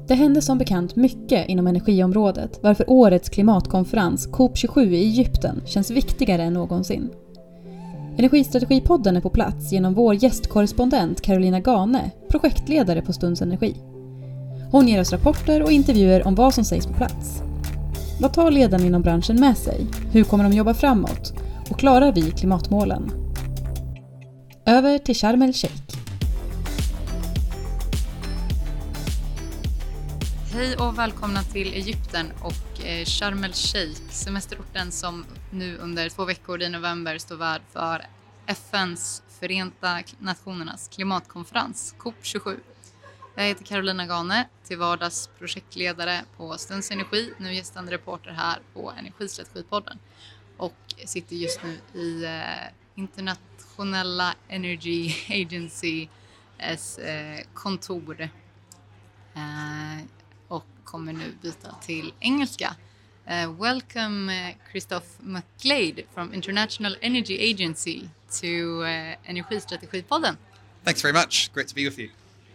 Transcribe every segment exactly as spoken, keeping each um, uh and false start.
Det hände som bekant mycket inom energiområdet, varför årets klimatkonferens C O P tjugosju i Egypten känns viktigare än någonsin. Energistrategipodden är på plats genom vår gästkorrespondent Carolina Gane, projektledare på Stunds Energi. Hon ger oss rapporter och intervjuer om vad som sägs på plats. Vad tar ledarna inom branschen med sig? Hur kommer de jobba framåt? Och klarar vi klimatmålen? Över till Sharm el-Sheikh. Hej och välkomna till Egypten och eh, Sharm el-Sheikh, semesterorten som nu under två veckor i november står värd för F N:s Förenta Nationernas klimatkonferens C O P tjugosju. Jag heter Carolina Gane, till vardags projektledare på Stunds Energi, nu gästande reporter här på Energistrategipodden och sitter just nu i eh, Internationella Energy Agency's eh, kontor. Eh, och kommer nu byta till engelska. Uh, welcome uh, Christoph McGlade from International Energy Agency to uh, Energistrategipodden. Thanks very much. Great to be with you.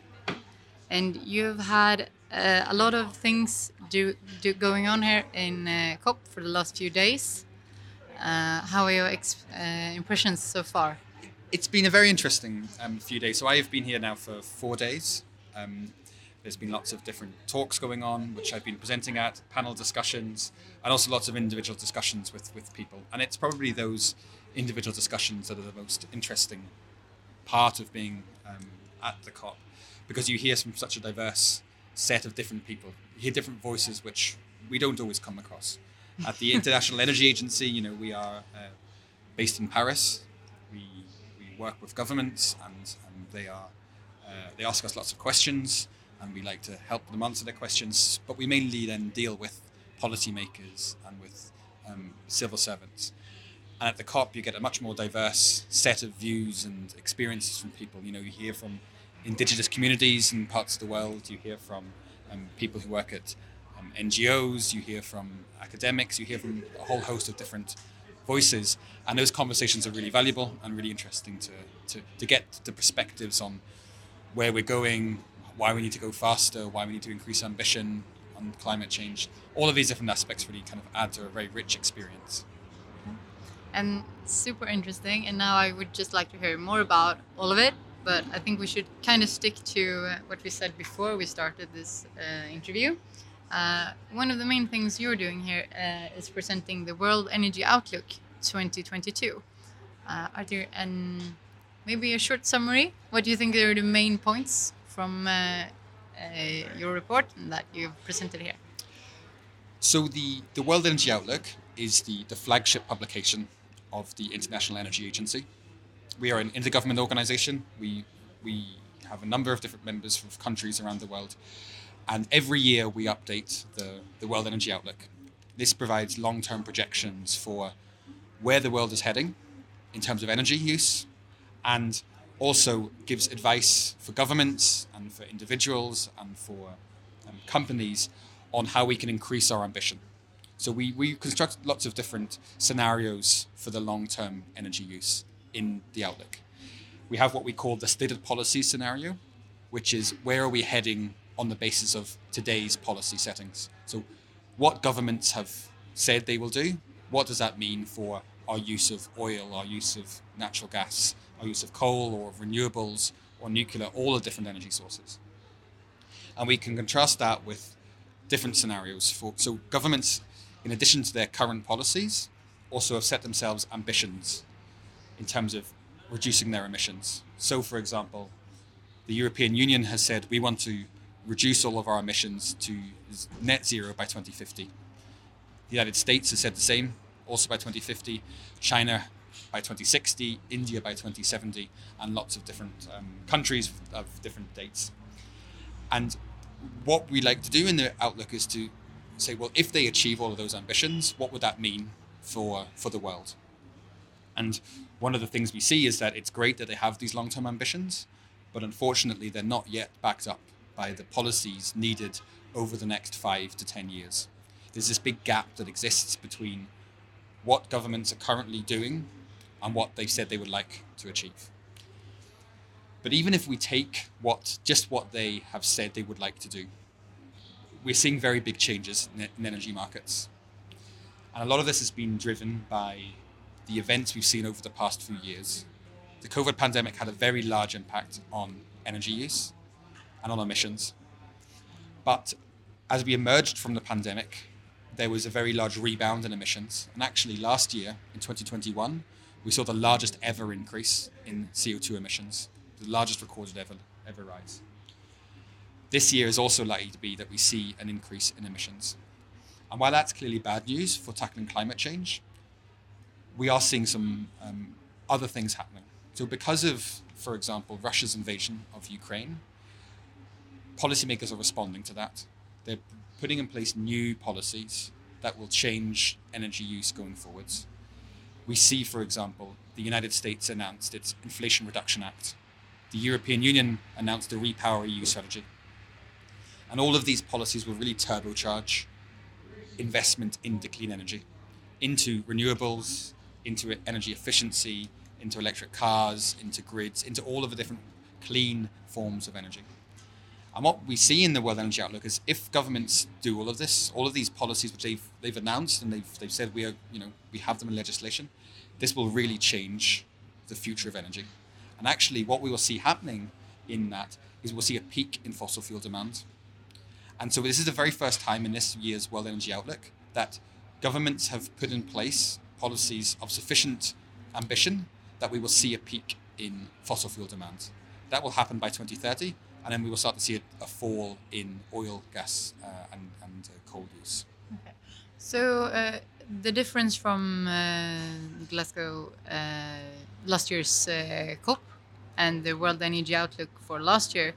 And you've had uh, a lot of things do, do going on here in uh, C O P for the last few days. Uh, how are your ex- uh, impressions so far? It's been a very interesting um, few days. So I have been here now for four days. Um, There's been lots of different talks going on, which I've been presenting at, panel discussions, and also lots of individual discussions with, with people. And it's probably those individual discussions that are the most interesting part of being um, at the C O P, because you hear from such a diverse set of different people. You hear different voices, which we don't always come across. At the International Energy Agency, you know, we are uh, based in Paris. We we work with governments, and, and they are uh, they ask us lots of questions. And we like to help them answer their questions, but we mainly then deal with policymakers and with um, civil servants. And at the C O P, you get a much more diverse set of views and experiences from people. You know, you hear from indigenous communities in parts of the world. You hear from um, people who work at um, N G Os. You hear from academics. You hear from a whole host of different voices. And those conversations are really valuable and really interesting to to, to get the perspectives on where we're going, why we need to go faster, why we need to increase ambition on climate change. All of these different aspects really kind of add to a very rich experience. And super interesting. And now I would just like to hear more about all of it. But I think we should kind of stick to what we said before we started this uh, interview. Uh, one of the main things you're doing here uh, is presenting the World Energy Outlook twenty twenty-two. Uh, are there an, maybe a short summary? What do you think are the main points from uh, uh, your report that you've presented here? So the, the World Energy Outlook is the, the flagship publication of the International Energy Agency. We are an intergovernment organization. We we have a number of different members from countries around the world. And every year we update the, the World Energy Outlook. This provides long-term projections for where the world is heading in terms of energy use, and also gives advice for governments and for individuals and for um, companies on how we can increase our ambition. So we, we construct lots of different scenarios for the long-term energy use in the Outlook. We have what we call the stated policy scenario, which is where are we heading on the basis of today's policy settings. So what governments have said they will do, what does that mean for our use of oil, our use of natural gas, our use of coal or renewables or nuclear, all the different energy sources. And we can contrast that with different scenarios. For so governments, in addition to their current policies, also have set themselves ambitions in terms of reducing their emissions. So, for example, the European Union has said we want to reduce all of our emissions to net zero by twenty fifty. The United States has said the same, also by twenty fifty. China by twenty sixty, India by twenty seventy, and lots of different um, countries of different dates. And what we like to do in the Outlook is to say, well, if they achieve all of those ambitions, what would that mean for, for the world? And one of the things we see is that it's great that they have these long-term ambitions, but unfortunately they're not yet backed up by the policies needed over the next five to ten years. There's this big gap that exists between what governments are currently doing and what they've said they would like to achieve. But even if we take what just what they have said they would like to do, we're seeing very big changes in, in energy markets. And a lot of this has been driven by the events we've seen over the past few years. The COVID pandemic had a very large impact on energy use and on emissions. But as we emerged from the pandemic, there was a very large rebound in emissions. And actually last year, in twenty twenty-one, we saw the largest ever increase in C O two emissions, the largest recorded ever, ever rise. This year is also likely to be that we see an increase in emissions. And while that's clearly bad news for tackling climate change, we are seeing some um, other things happening. So because of, for example, Russia's invasion of Ukraine, policymakers are responding to that. They're putting in place new policies that will change energy use going forwards. We see, for example, the United States announced its Inflation Reduction Act. The European Union announced the Repower E U strategy. And all of these policies will really turbocharge investment into clean energy, into renewables, into energy efficiency, into electric cars, into grids, into all of the different clean forms of energy. And what we see in the World Energy Outlook is if governments do all of this, all of these policies which they've they've announced and they've they've said we are, you know, we have them in legislation, this will really change the future of energy. And actually what we will see happening in that is we'll see a peak in fossil fuel demand. And so this is the very first time in this year's World Energy Outlook that governments have put in place policies of sufficient ambition that we will see a peak in fossil fuel demand. That will happen by twenty thirty. And then we will start to see a, a fall in oil, gas, uh, and, and uh, coal use. Okay. So uh, the difference from uh, Glasgow uh, last year's uh, COP and the World Energy Outlook for last year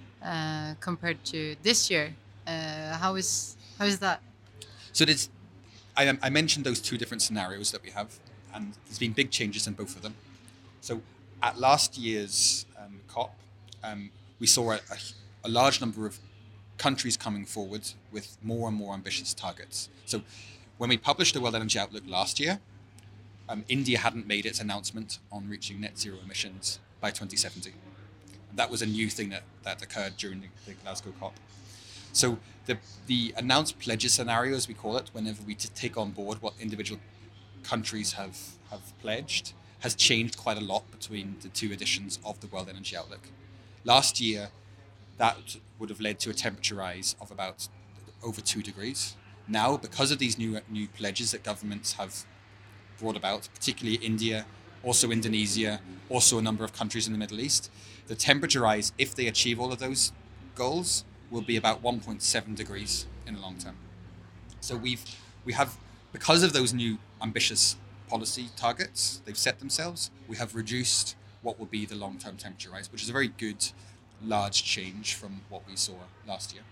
uh, compared to this year, uh, how is how is that? So there's, I, I mentioned those two different scenarios that we have, and there's been big changes in both of them. So at last year's um, COP, um, we saw a, a, a large number of countries coming forward with more and more ambitious targets. So when we published the World Energy Outlook last year, um, India hadn't made its announcement on reaching net zero emissions by twenty seventy. And that was a new thing that, that occurred during the, the Glasgow COP. So the, the announced pledges scenario, as we call it, whenever we t- take on board what individual countries have, have pledged, has changed quite a lot between the two editions of the World Energy Outlook. Last year, that would have led to a temperature rise of about over two degrees. Now, because of these new new pledges that governments have brought about, particularly India, also Indonesia, also a number of countries in the Middle East, the temperature rise, if they achieve all of those goals, will be about one point seven degrees in the long term. So we've we have, because of those new ambitious policy targets they've set themselves, we have reduced what will be the long-term temperature rise, which is a very good, large change from what we saw last year.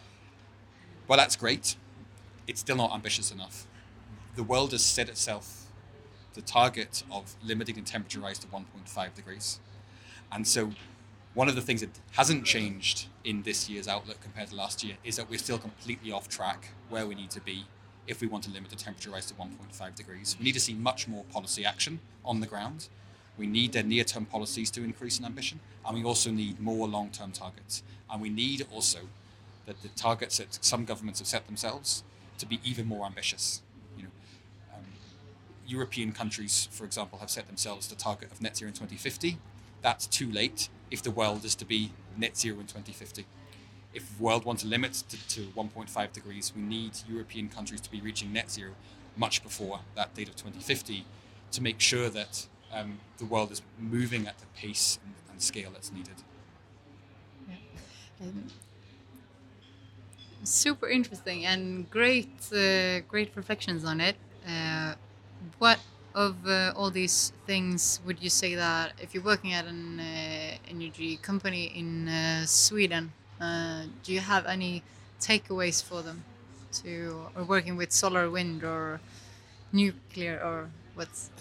Well, that's great. It's still not ambitious enough. The world has set itself the target of limiting the temperature rise to one point five degrees. And so one of the things that hasn't changed in this year's outlook compared to last year is that we're still completely off track where we need to be if we want to limit the temperature rise to one point five degrees. We need to see much more policy action on the ground. We need their near-term policies to increase in ambition, and we also need more long-term targets. And we need also that the targets that some governments have set themselves to be even more ambitious. You know, um, European countries, for example, have set themselves the target of net zero in twenty fifty. That's too late if the world is to be net zero in twenty fifty. If the world wants to limit to, to one point five degrees, we need European countries to be reaching net zero much before that date of twenty fifty to make sure that Um, the world is moving at the pace and, and scale that's needed. Yeah. Um, super interesting and great, uh, great reflections on it. Uh, what of uh, all these things would you say that if you're working at an uh, energy company in uh, Sweden, uh, do you have any takeaways for them to, or working with solar, wind, or nuclear, or what's?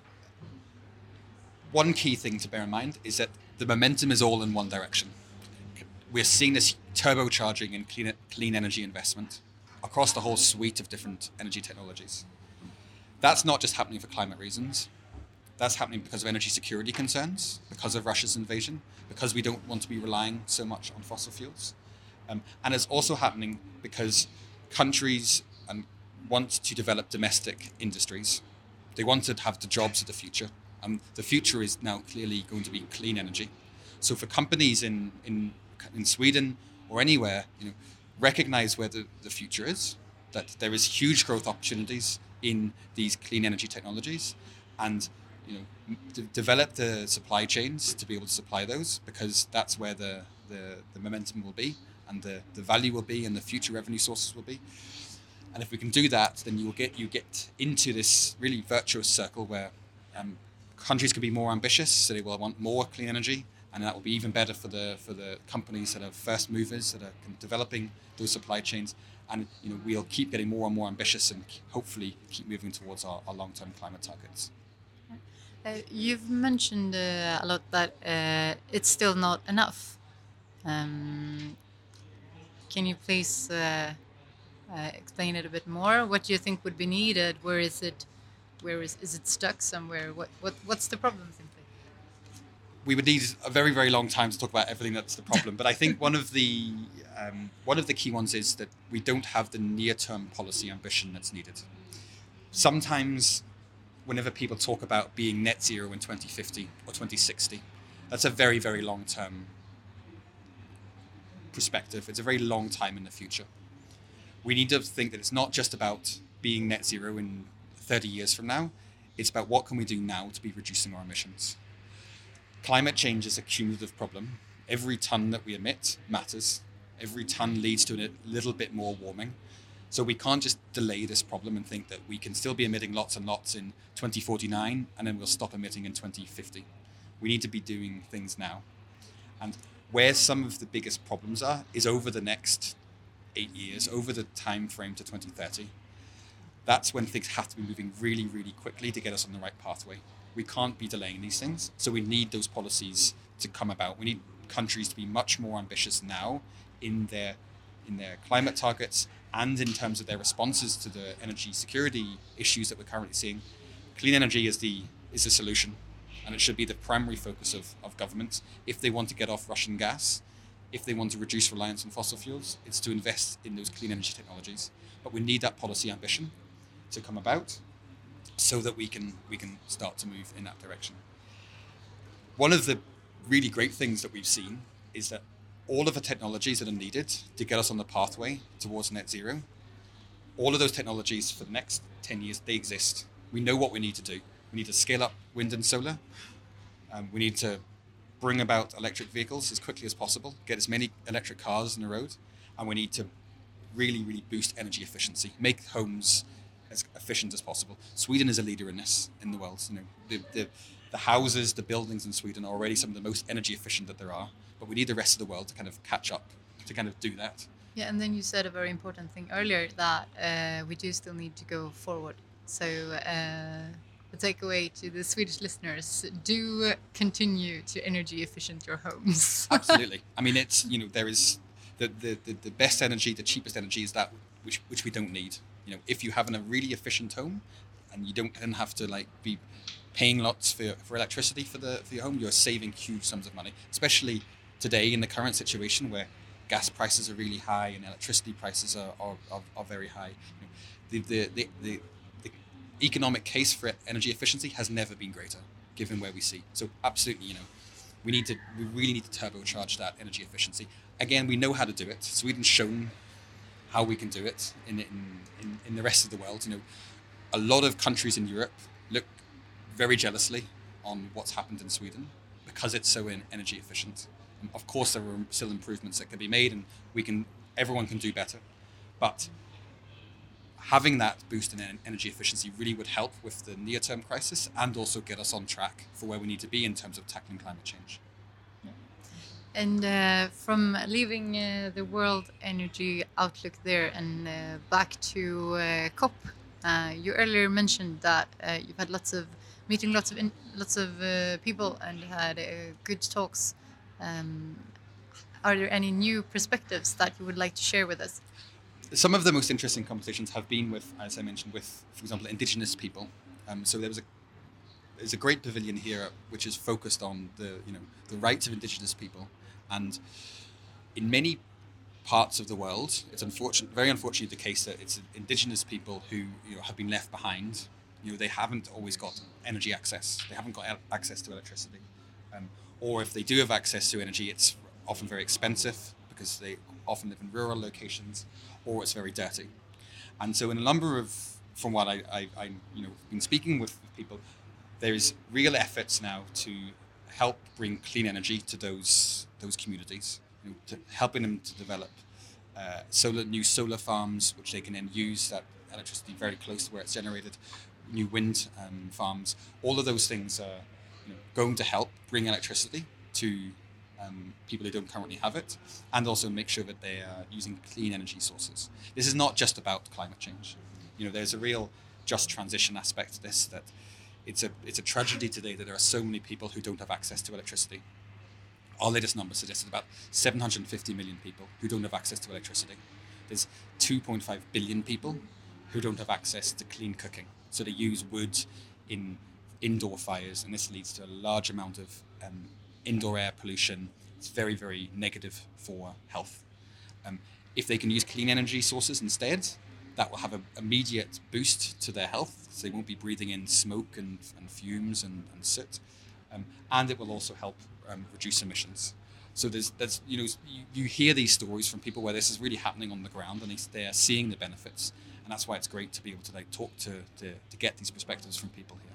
One key thing to bear in mind is that the momentum is all in one direction. We're seeing this turbocharging in clean, clean energy investment across the whole suite of different energy technologies. That's not just happening for climate reasons. That's happening because of energy security concerns, because of Russia's invasion, because we don't want to be relying so much on fossil fuels. Um, and it's also happening because countries um, want to develop domestic industries. They want to have the jobs of the future. Um, the future is now clearly going to be clean energy. So for companies in in, in Sweden or anywhere, you know, recognize where the, the future is, that there is huge growth opportunities in these clean energy technologies, and you know, d- develop the supply chains to be able to supply those, because that's where the, the, the momentum will be, and the, the value will be, and the future revenue sources will be. And if we can do that, then you'll get you get into this really virtuous circle where um, countries can be more ambitious, so they will want more clean energy, and that will be even better for the for the companies that are first movers, that are developing those supply chains. And you know, we'll keep getting more and more ambitious, and hopefully keep moving towards our, our long-term climate targets. Uh, you've mentioned uh, a lot that uh, it's still not enough. Um, can you please uh, uh, explain it a bit more? What do you think would be needed? Where is it? Where is is it stuck somewhere? What what what's the problem simply? We would need a very very long time to talk about everything that's the problem. But I think one of the um, one of the key ones is that we don't have the near-term policy ambition that's needed. Sometimes, whenever people talk about being net zero in twenty fifty or twenty sixty, that's a very, very long-term perspective. It's a very long time in the future. We need to think that it's not just about being net zero in thirty years from now. It's about what can we do now to be reducing our emissions. Climate change is a cumulative problem. Every ton that we emit matters. Every ton leads to a little bit more warming. So we can't just delay this problem and think that we can still be emitting lots and lots in twenty forty-nine and then we'll stop emitting in twenty fifty. We need to be doing things now. And where some of the biggest problems are is over the next eight years, over the time frame to twenty thirty. That's when things have to be moving really, really quickly to get us on the right pathway. We can't be delaying these things. So we need those policies to come about. We need countries to be much more ambitious now in their in their climate targets and in terms of their responses to the energy security issues that we're currently seeing. Clean energy is the is the solution, and it should be the primary focus of, of governments. If they want to get off Russian gas, if they want to reduce reliance on fossil fuels, it's to invest in those clean energy technologies. But we need that policy ambition to come about so that we can we can start to move in that direction. One of the really great things that we've seen is that all of the technologies that are needed to get us on the pathway towards net zero, all of those technologies for the next ten years, they exist. We know what we need to do. We need to scale up wind and solar. Um, we need to bring about electric vehicles as quickly as possible, get as many electric cars on the road, and we need to really, really boost energy efficiency, make homes as efficient as possible. Sweden is a leader in this in the world. You know, the, the, the houses, the buildings in Sweden are already some of the most energy efficient that there are, but we need the rest of the world to kind of catch up, to kind of do that. Yeah, and then you said a very important thing earlier, that uh, we do still need to go forward. So uh, the takeaway to the Swedish listeners: do continue to energy efficient your homes. Absolutely. I mean, it's, you know, there is the, the, the, the best energy, the cheapest energy is that which which we don't need. You know, if you have a really efficient home and you don't then have to like be paying lots for, for electricity for the for your home, you're saving huge sums of money, especially today in the current situation where gas prices are really high and electricity prices are, are, are, are very high. You know, the, the, the, the, the economic case for energy efficiency has never been greater, given where we see. So absolutely, you know, we need to we really need to turbocharge that energy efficiency. Again, we know how to do it. Sweden's shown how we can do it in, in, in, in the rest of the world. You know, a lot of countries in Europe look very jealously on what's happened in Sweden because it's so in energy efficient. And of course, there are still improvements that can be made, and we can, everyone can do better. But having that boost in energy efficiency really would help with the near-term crisis and also get us on track for where we need to be in terms of tackling climate change. And uh, from leaving uh, the World Energy Outlook there and uh, back to uh, COP, uh, you earlier mentioned that uh, you've had lots of meeting lots of in, lots of uh, people and had uh, good talks. Um, are there any new perspectives that you would like to share with us? Some of the most interesting conversations have been with, as I mentioned, with, for example, indigenous people. Um, so there was a there's a great pavilion here which is focused on the you know the rights of indigenous people, and in many parts of the world, it's unfortunate, very unfortunately the case that it's indigenous people who you know, have been left behind. You know, they haven't always got energy access. They haven't got el- access to electricity. Um, or if they do have access to energy, it's often very expensive because they often live in rural locations, or it's very dirty. And so in a number of, from what I, I, I you know, been speaking with people, there is real efforts now to help bring clean energy to those those communities, you know, to helping them to develop uh, solar new solar farms, which they can then use that electricity very close to where it's generated, new wind um, farms. All of those things are you know, going to help bring electricity to um, people who don't currently have it, and also make sure that they are using clean energy sources. This is not just about climate change. You know, there's a real just transition aspect to this. That it's a it's a tragedy today that there are so many people who don't have access to electricity. Our latest numbers suggested about seven hundred fifty million people who don't have access to electricity. There's two point five billion people who don't have access to clean cooking. So they use wood in indoor fires, and this leads to a large amount of um, indoor air pollution. It's very, very negative for health. Um, if they can use clean energy sources instead, that will have an immediate boost to their health. So they won't be breathing in smoke and, and fumes and, and soot. Um, and it will also help um, reduce emissions. So there's, there's you know, you, you hear these stories from people where this is really happening on the ground, and they, they are seeing the benefits. And that's why it's great to be able to like talk to, to, to get these perspectives from people here.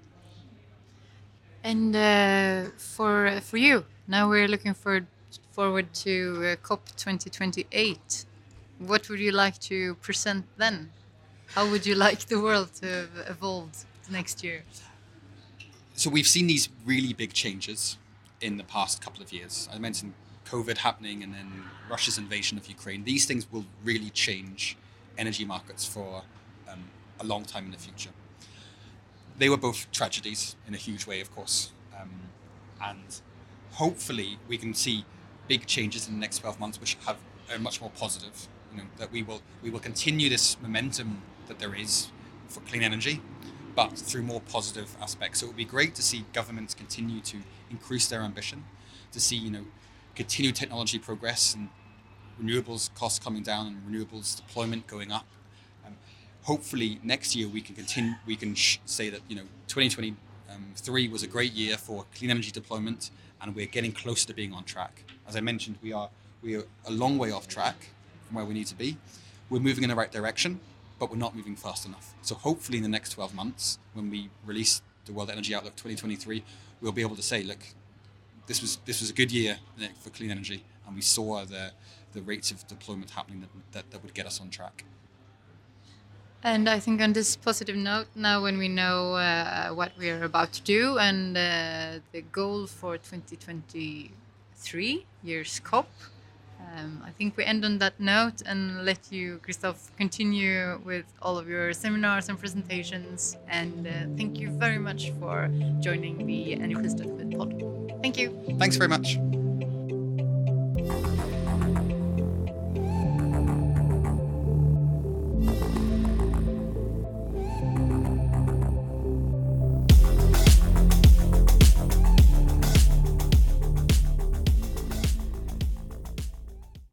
And uh, for for you, now we're looking for, forward to uh, COP twenty twenty-eight. What would you like to present then? How would you like the world to have evolved next year? So we've seen these really big changes in the past couple of years. I mentioned COVID happening and then Russia's invasion of Ukraine. These things will really change energy markets for um, a long time in the future. They were both tragedies in a huge way, of course. Um, and hopefully we can see big changes in the next twelve months which have are much more positive. You know, that we will we will continue this momentum that there is for clean energy, but through more positive aspects. So it would be great to see governments continue to increase their ambition, to see you know continued technology progress and renewables costs coming down and renewables deployment going up. Um, hopefully next year we can continue. We can sh- say that you know twenty twenty-three was a great year for clean energy deployment, and we're getting closer to being on track. As I mentioned, we are we are a long way off track from where we need to be. We're moving in the right direction, but we're not moving fast enough. So hopefully in the next twelve months, when we release the World Energy Outlook twenty twenty-three, we'll be able to say, look, this was this was a good year for clean energy, and we saw the the rates of deployment happening that that, that would get us on track. And I think on this positive note, now when we know uh, what we are about to do and uh, the goal for twenty twenty-three year's COP, um, I think we end on that note and let you, Christoph, continue with all of your seminars and presentations. And uh, thank you very much for joining the Energistödet pod. Thank you. Thanks very much.